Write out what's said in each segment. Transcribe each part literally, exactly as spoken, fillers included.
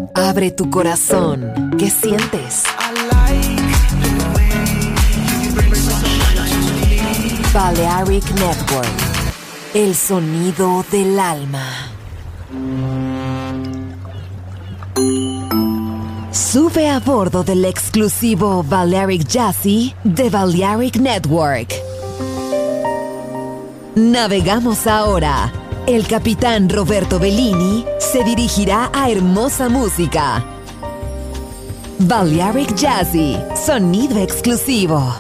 Abre tu corazón. ¿Qué sientes? Balearic Network. El sonido del alma. Sube a bordo del exclusivo Balearic Jazzy de Balearic Network. Navegamos ahora. El capitán Roberto Bellini se dirigirá a hermosa música. Balearic Jazzy, sonido exclusivo.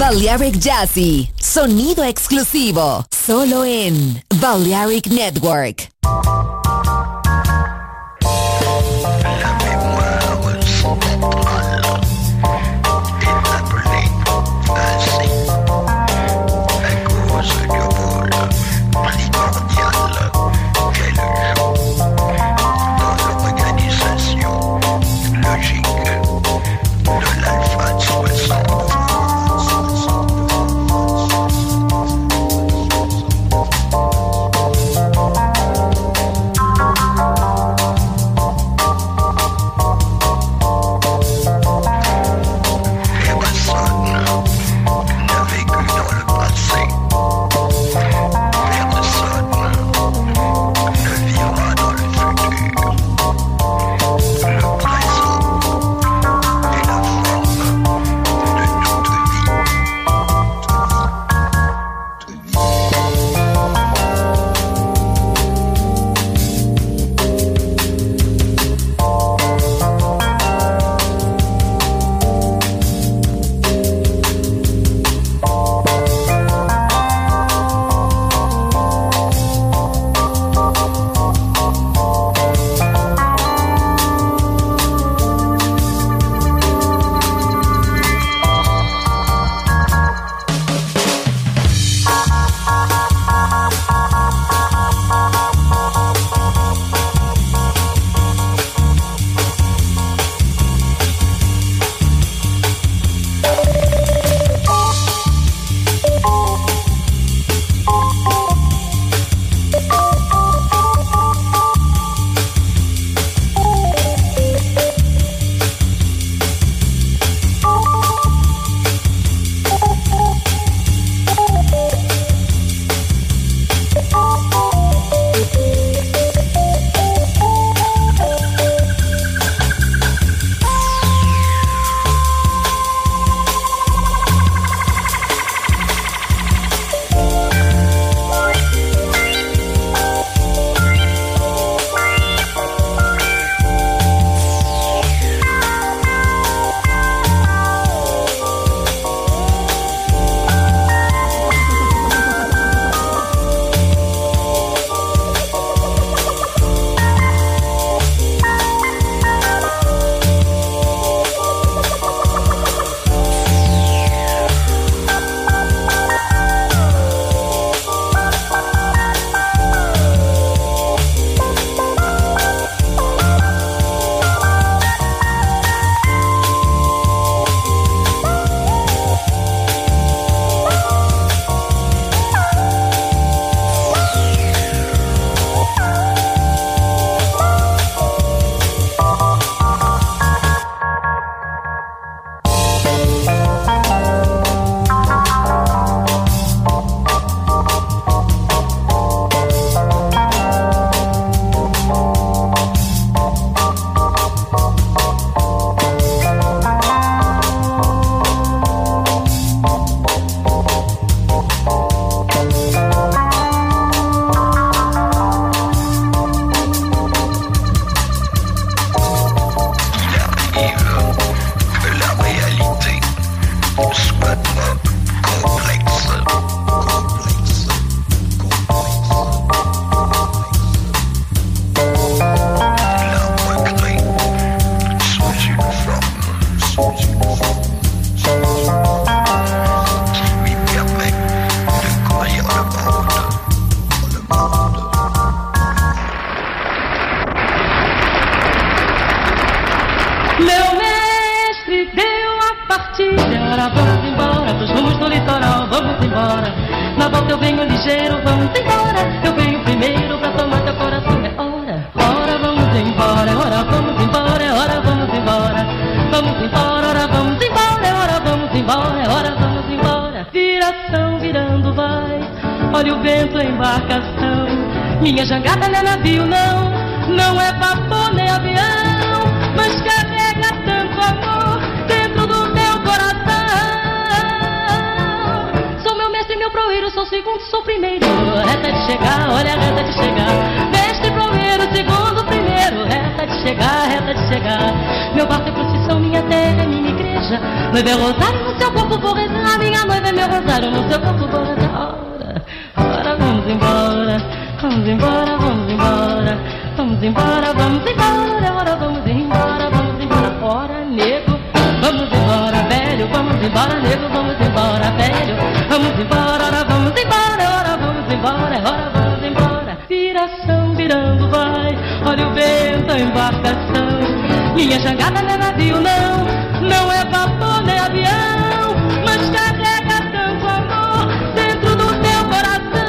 Balearic Jazzy, sonido exclusivo, solo en Balearic Network. Olha o vento, a embarcação. Minha jangada não é navio, não. Não é vapor nem avião, mas carrega tanto amor dentro do meu coração. Sou meu mestre, meu proeiro, sou segundo, sou primeiro. Reta de chegar, olha a reta de chegar. Mestre, proeiro, segundo, primeiro. Reta de chegar, reta de chegar. Meu barco é procissão, minha terra é minha igreja. Noiva é rosário, no seu corpo vou rezar. Minha noiva vamos embora, vamos embora, ora vamos embora, vamos embora, ora nego, vamos embora, velho, vamos embora, nego, vamos embora, velho, vamos embora, ora vamos embora, ora vamos embora, ora vamos embora, viração virando vai, olha o vento, a embarcação, minha jangada não é navio não, não é vapor nem avião, mas carrega tanto amor dentro do teu coração.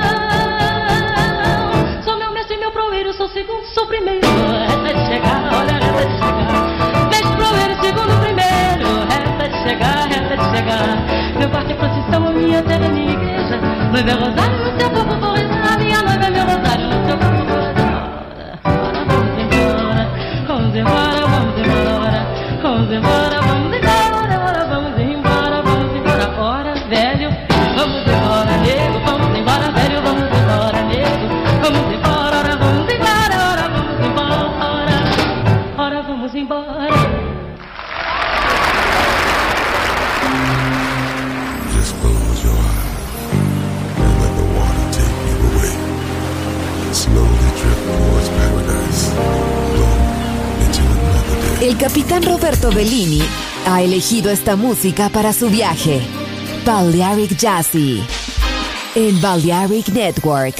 Sou meu mestre, meu proeiro, sou segundo, sou primeiro, resta de chegar, olha, resta de chegar, mestre, proeiro, segundo, primeiro, resta de chegar, resta de chegar, meu quarto é procissão, a minha terra é minha igreja, noiva é rosário, no teu corpo vou rezar, minha noiva é meu rosário, no teu corpo vou rezar. Ora, vamos embora, vamos embora, vamos embora, vamos embora, vamos embora, ora, vamos embora, vamos embora, ora, velho, vamos embora, nego, vamos embora, velho, vamos embora, nego, vamos embora, ora, vamos embora, ora, vamos embora, ora, vamos embora. Just close your eyes and let the water take you away. Slowly drift towards paradise. Go into another day. El capitán Roberto Bellini ha elegido esta música para su viaje. Balearic Jazzy en Balearic Network.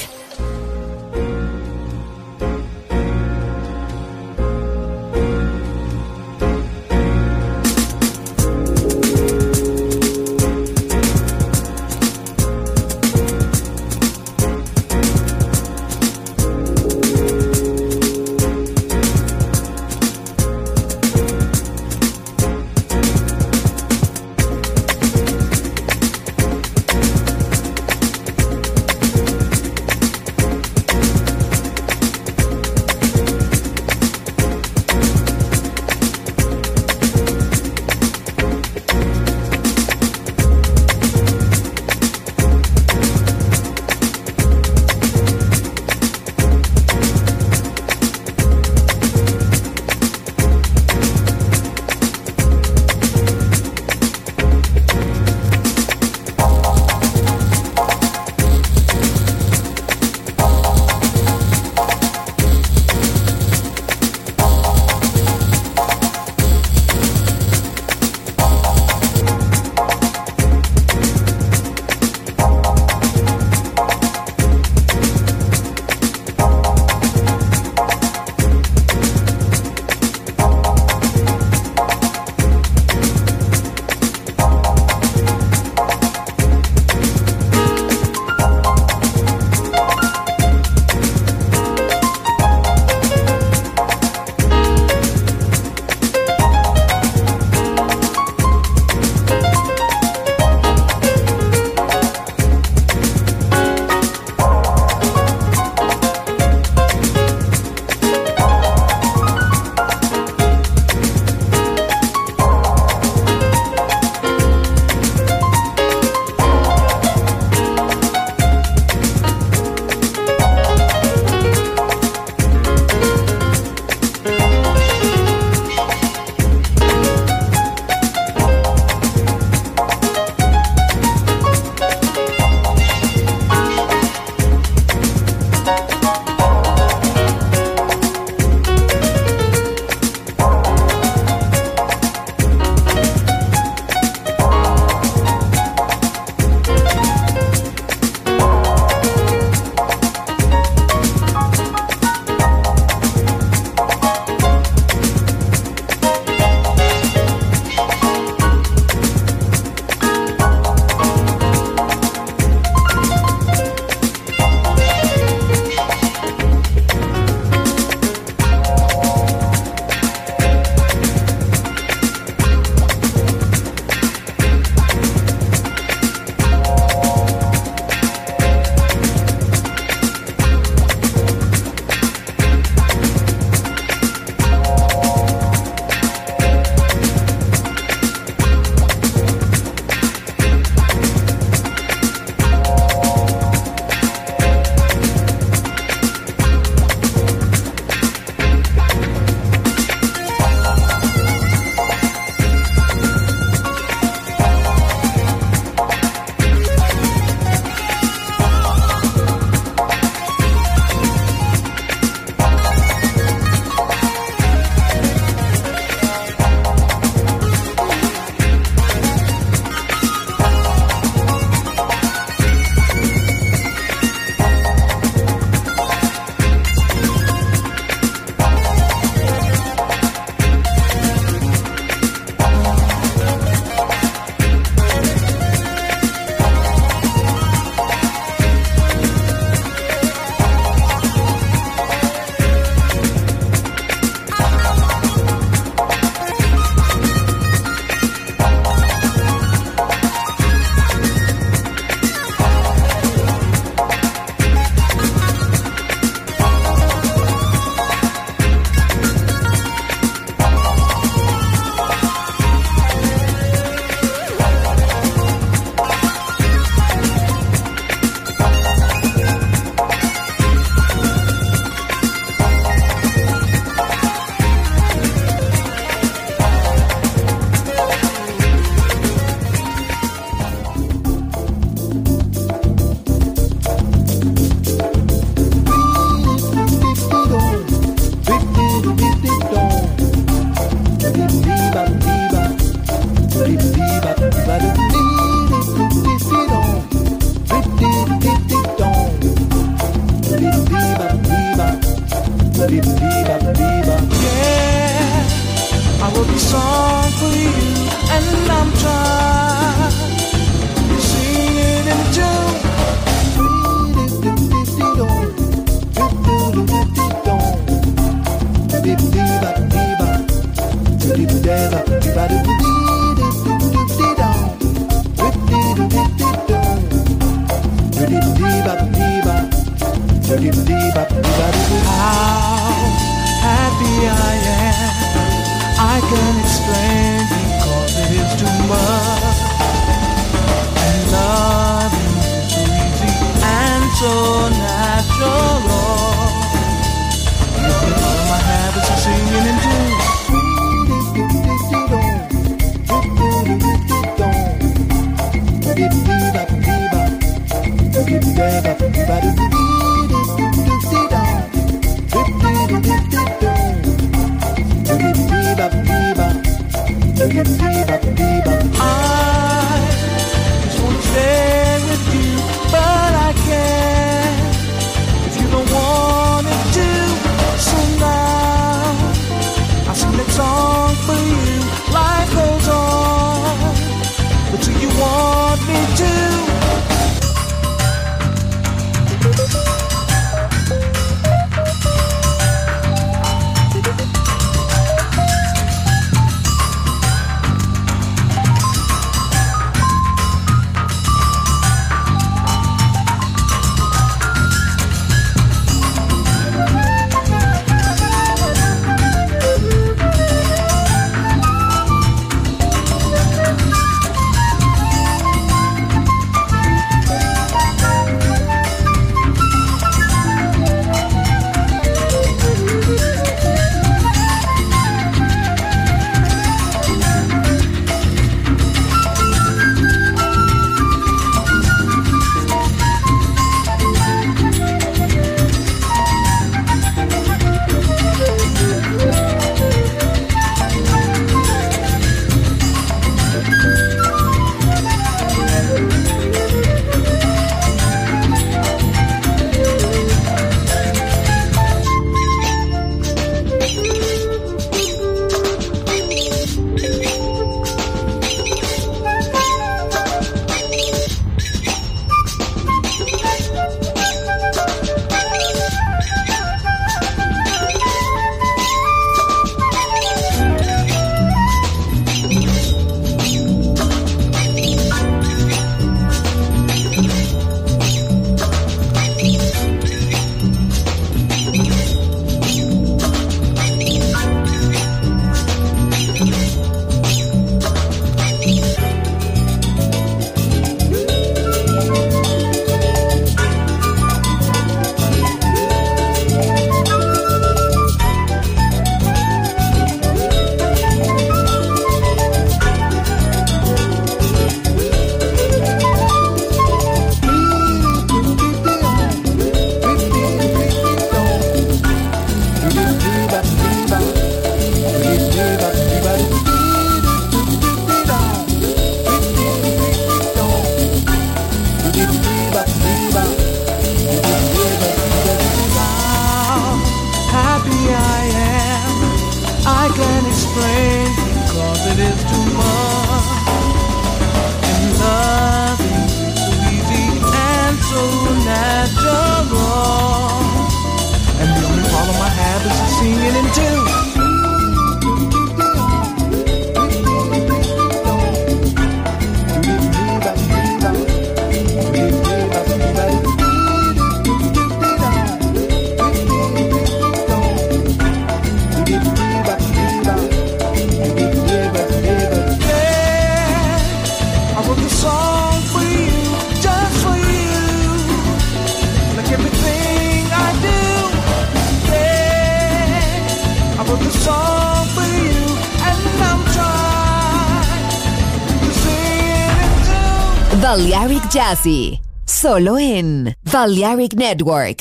Balearic Jazzy, solo en Balearic Network.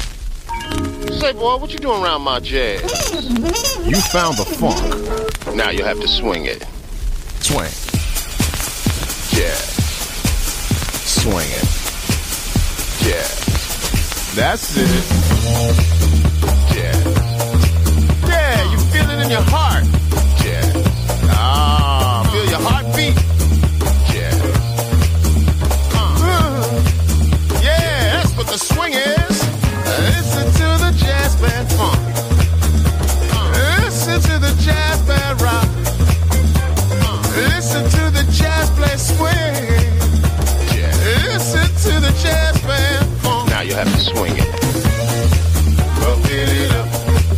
Say, boy, what you doing around my jazz? You found the funk. Now you have to swing it. Swing. Jazz. Swing it. Jazz. That's it. Jazz. Yeah, you feel it in your heart. Jazz. Ah, feel your heartbeat. Jazz. Uh. Yeah, that's what the swing is. Listen to the jazz band funk. Listen to the jazz band rock. Listen to the jazz play swing. Listen to the jazz band funk. Now you have to swing it. Bump it up.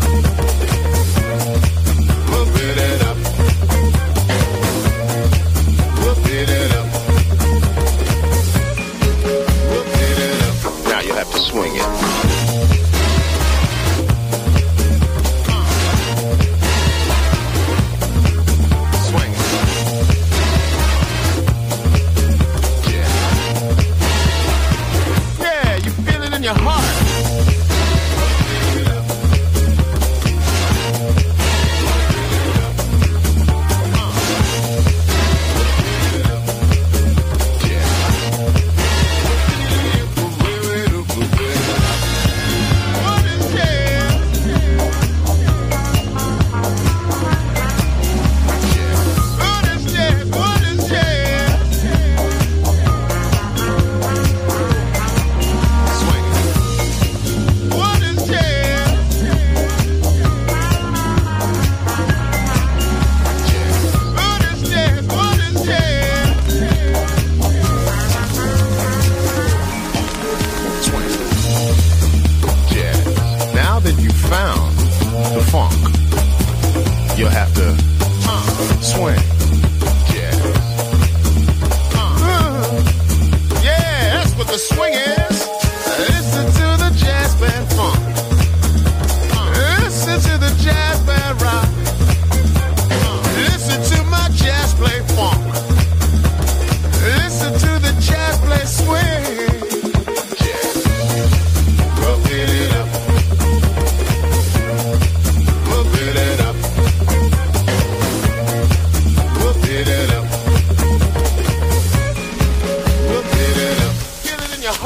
Bump it up. Bump it up. Bump it up. Now you have to swing it. Swing it. Yeah.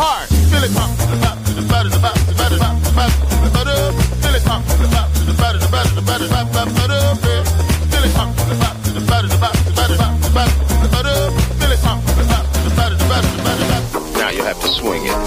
heart. Feel it pump to the top, to the bottom, to the bottom, to the bottom, to the bottom, to the bottom. Feel it pump to the top, to the bottom, to the bottom, to the bottom, to the bottom. Feel it pump to the top, to the bottom, to the bottom, to the bottom, to the bottom, to the bottom. Feel it pump to the top, to the bottom, to the bottom, to the bottom, to the bottom. Now you have to swing it.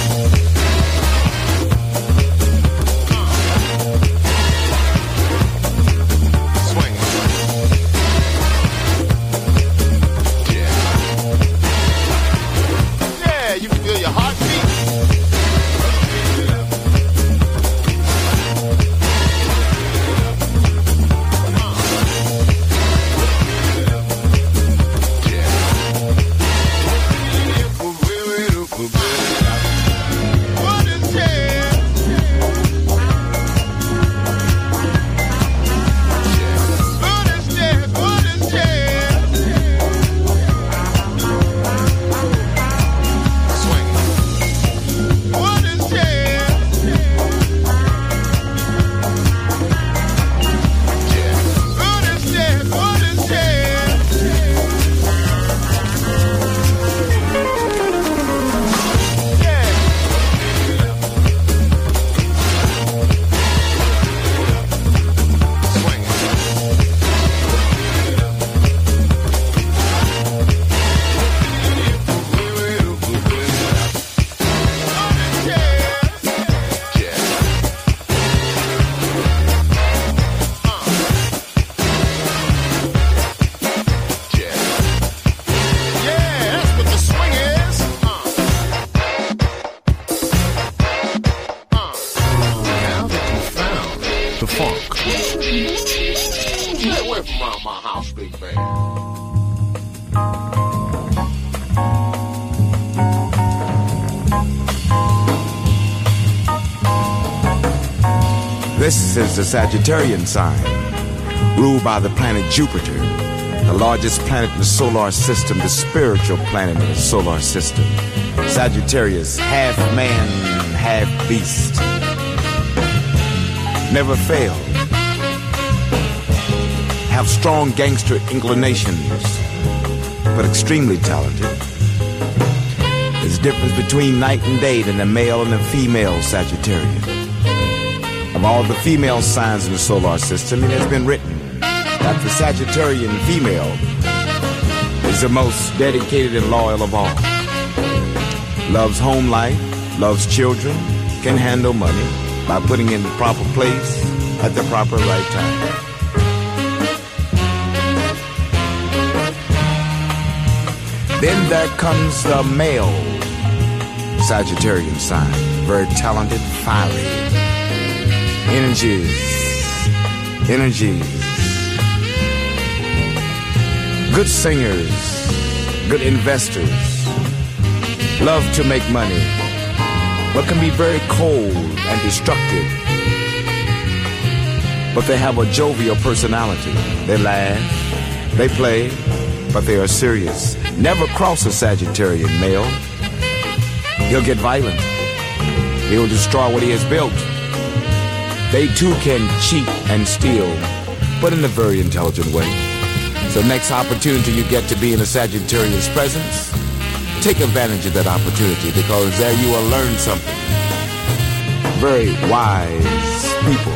This is the Sagittarian sign, ruled by the planet Jupiter, the largest planet in the solar system, the spiritual planet in the solar system. Sagittarius, half man, half beast. Never fail. Have strong gangster inclinations, but extremely talented. There's a difference between night and day than the male and the female Sagittarian. Of all the female signs in the solar system, it has been written that the Sagittarian female is the most dedicated and loyal of all. Loves home life, loves children, can handle money by putting in the proper place at the proper right time. Then there comes the male Sagittarian sign, very talented, fiery. Energies, energies, good singers, good investors, love to make money, but can be very cold and destructive. But they have a jovial personality. They laugh, they play, but they are serious. Never cross a Sagittarian male. He'll get violent. He'll destroy what he has built. They too can cheat and steal, but in a very intelligent way. So next opportunity you get to be in a Sagittarian's presence, take advantage of that opportunity, because there you will learn something. Very wise people.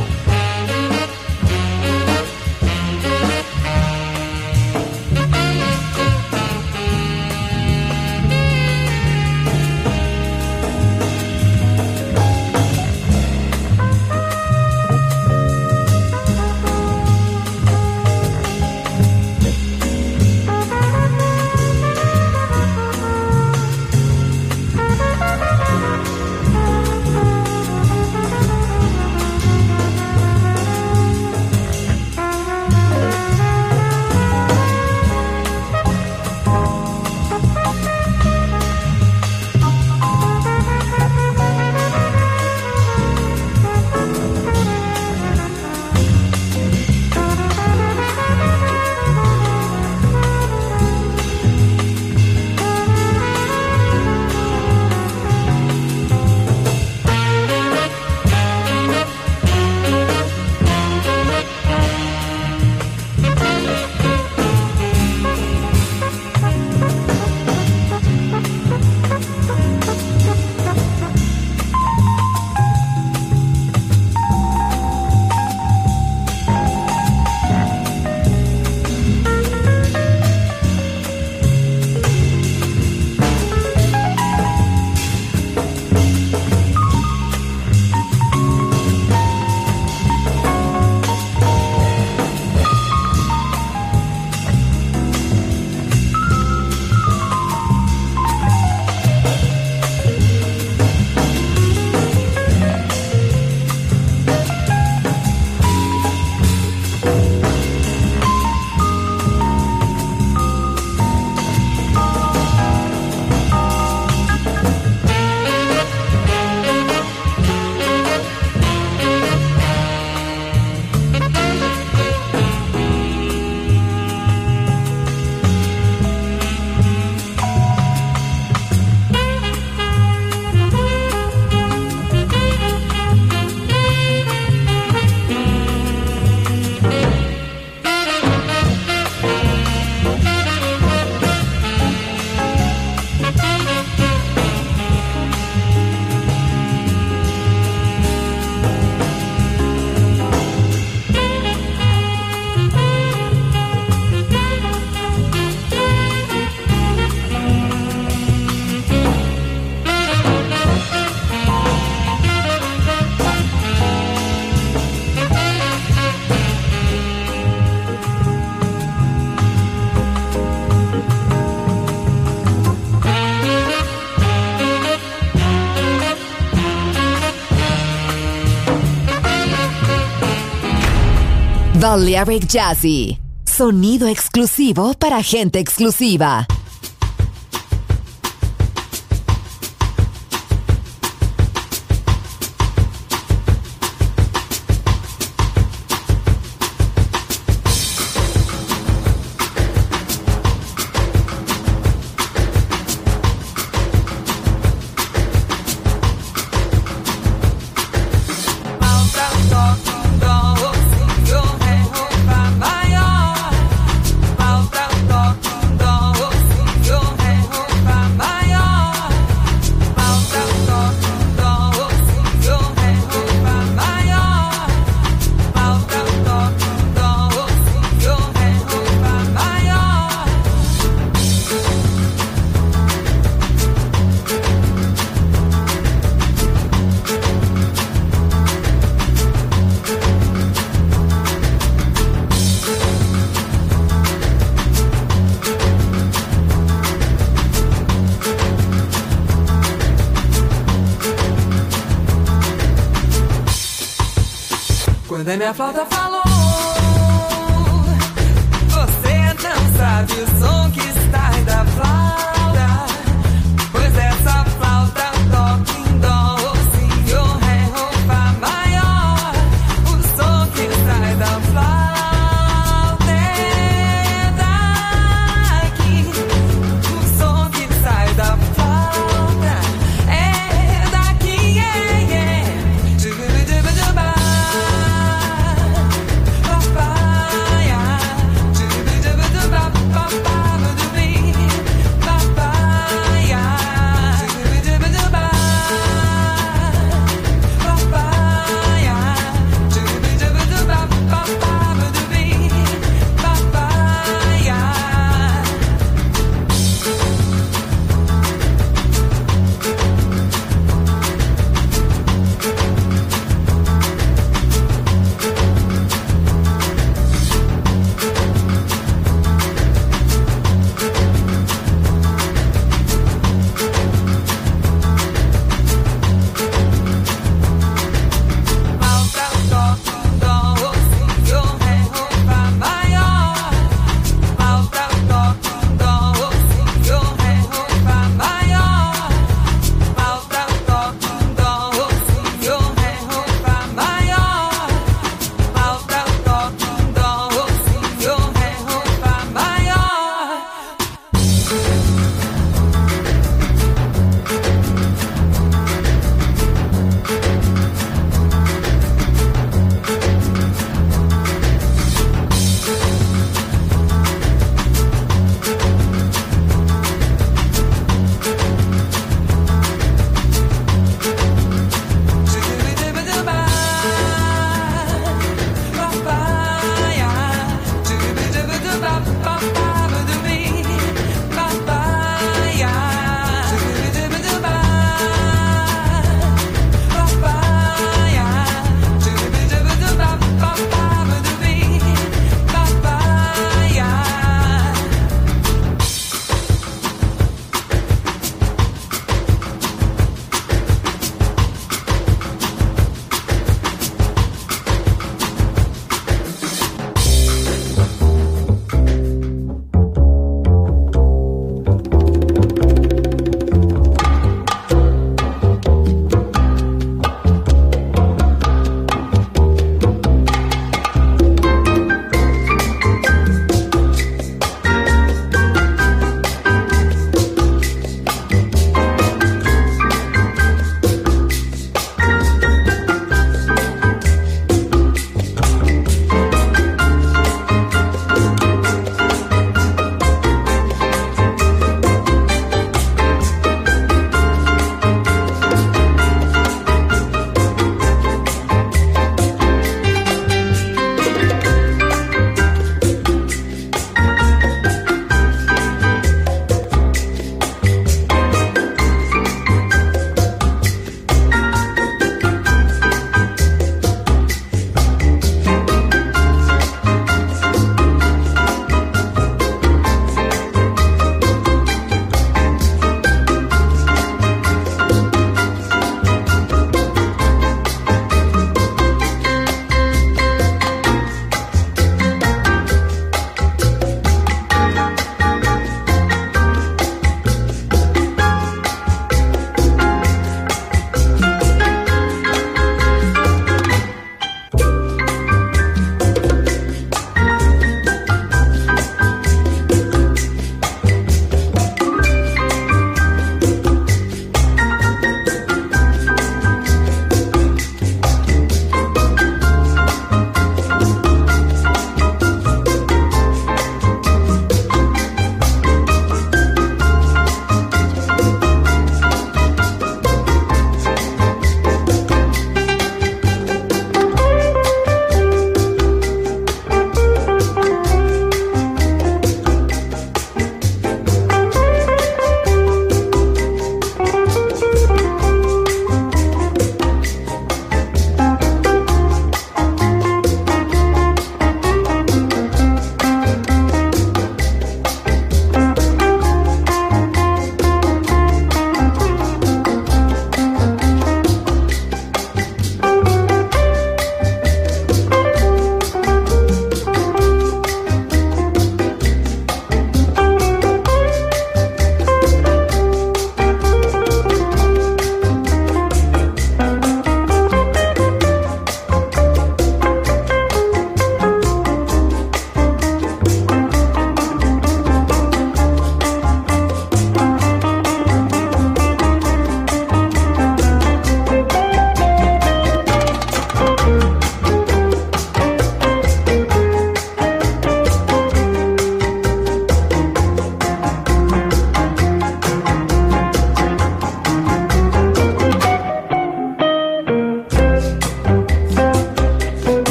Balearic Jazzy, sonido exclusivo para gente exclusiva. Quando a minha flauta falou, você não sabe o som que sai da flauta, pois essa flauta toca em dó, si, o, ré, o, fá maior. O som que sai da flauta é daqui. O som que sai da flauta é daqui, yeah, yeah. Jubidubiduba. Bye.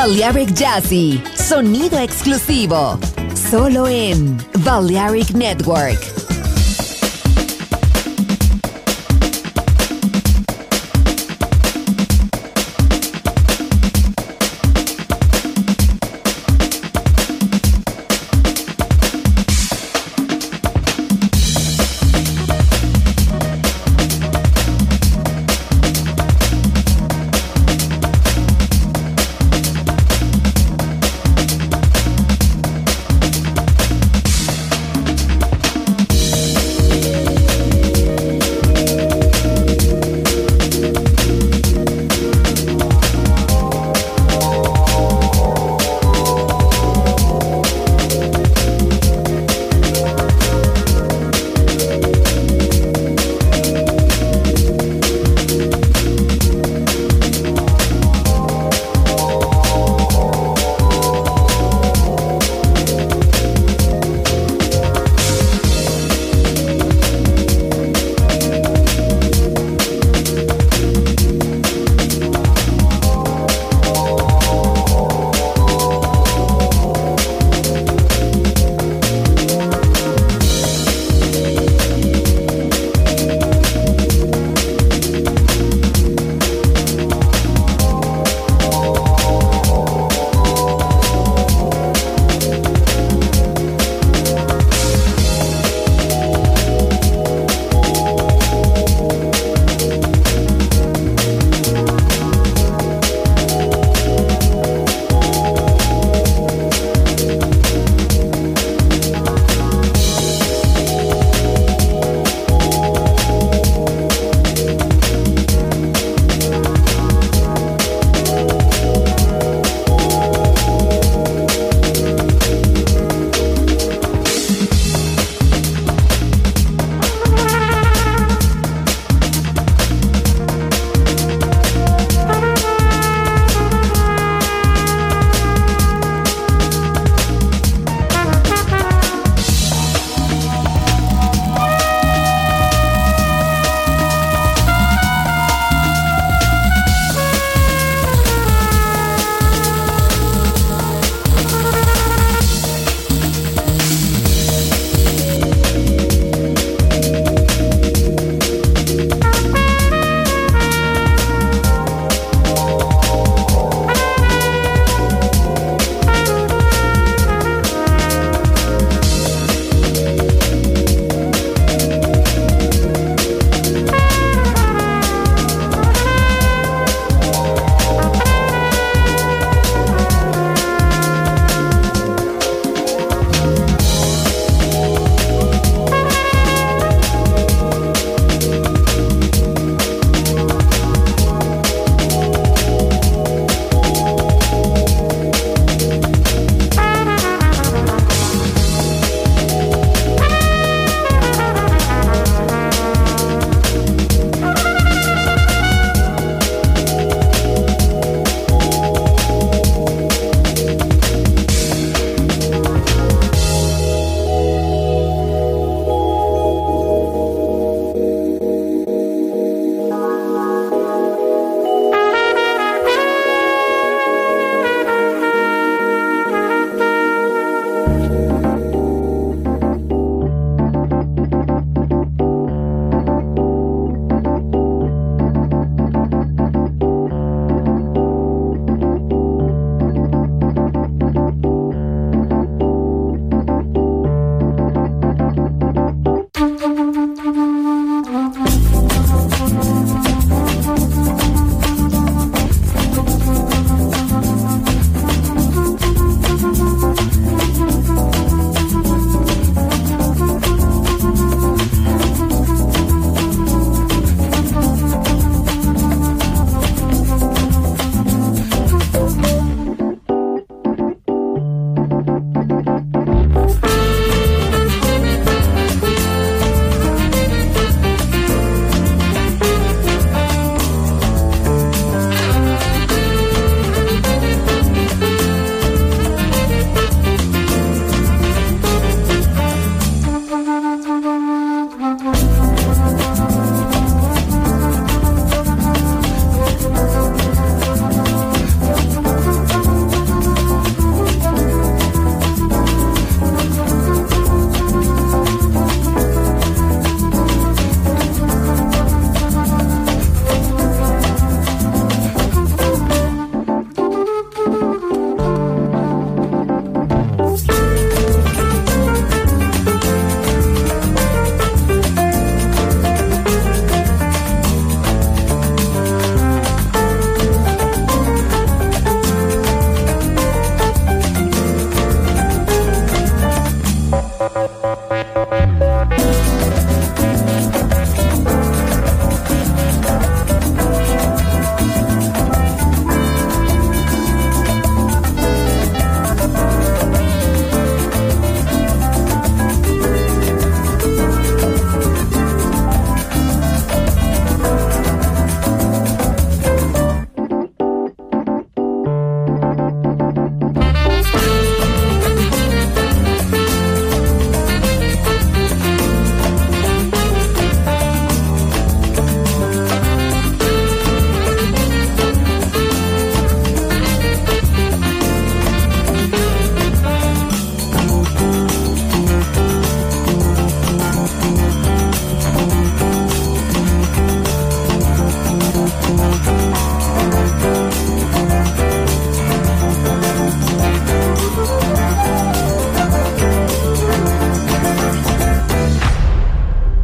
Balearic Jazzy, sonido exclusivo, solo en Balearic Network.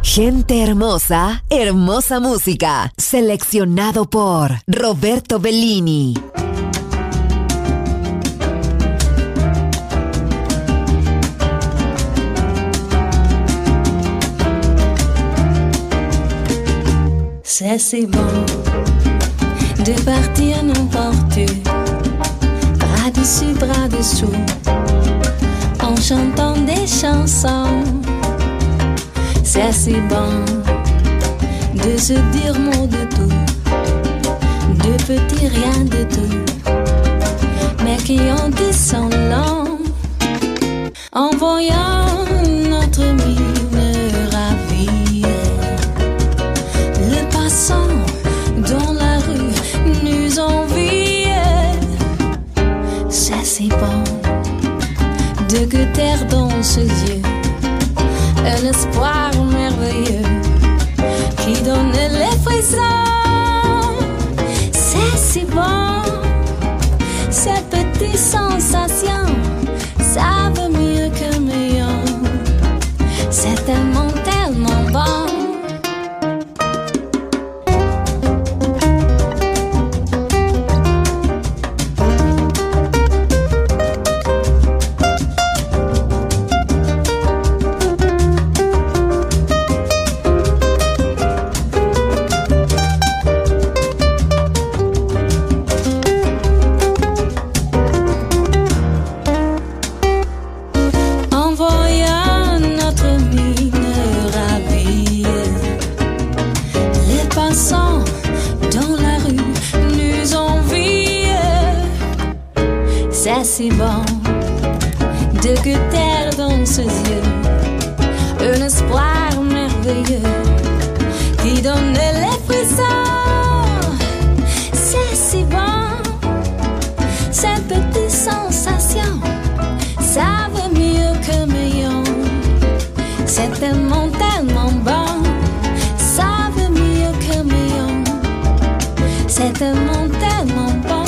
Gente hermosa, hermosa música. Seleccionado por Roberto Bellini. C'est si bon de partir n'importe où, bras dessus, bras dessous, en chantant des chansons. C'est si bon de se dire mot de tout, de petits rien de tout, mais qui en disent son long, en voyant notre mine ravie. Le passant dans la rue nous envie. C'est si bon de goûter dans ses yeux un espoir merveilleux qui donne les frissons. C'est si bon, ces petites sensations savent mieux que meilleur. C'est tellement, tellement bon. C'est si bon de goûter dans ses yeux un espoir merveilleux qui donne les frissons. C'est si bon, ces petites sensations savent mieux que meilleur. C'est tellement, tellement bon, savent mieux que meilleur. C'est tellement, tellement bon,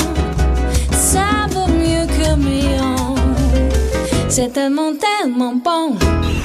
savent mieux que meilleur. C'est tellement, tellement bon.